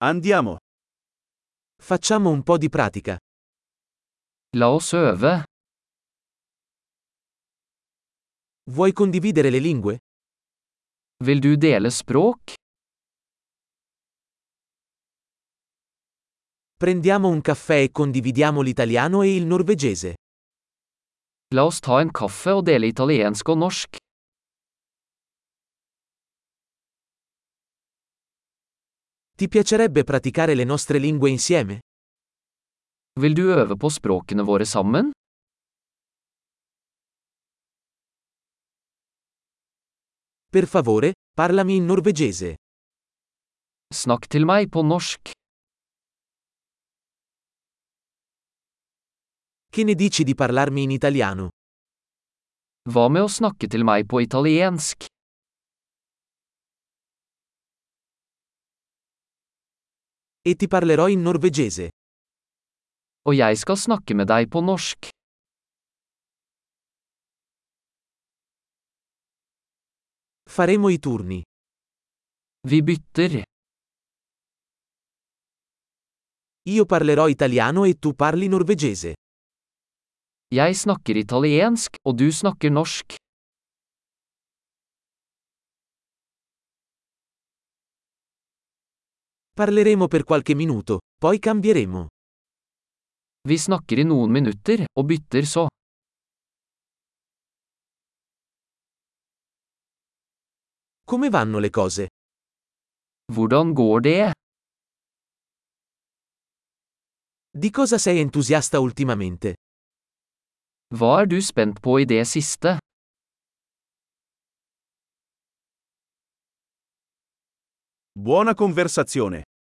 Andiamo. Facciamo un po' di pratica. La oss øve. Vuoi condividere le lingue? Vil du dele språk? Prendiamo un caffè e condividiamo l'italiano e il norvegese. La oss ta en kaffe og dele italiensk og norsk. Ti piacerebbe praticare le nostre lingue insieme? Vil du øve på språkene våre sammen? Per favore, parlami in norvegese. Snakk til meg på norsk. Che ne dici di parlarmi in italiano? Hva med å snakke til meg på italiensk? E ti parlerò in norvegese. Og jeg skal snakke med deg på norsk. Faremo i turni. Vi bytter. Io parlerò italiano e tu parli norvegese. Jeg snakker italiensk, og du snakker norsk. Parleremo per qualche minuto, poi cambieremo. Vi snakker i noen minutter, og bytter så. Come vanno le cose? Hvordan går det? Di cosa sei entusiasta ultimamente? Hva er du spent på i det siste? Buona conversazione.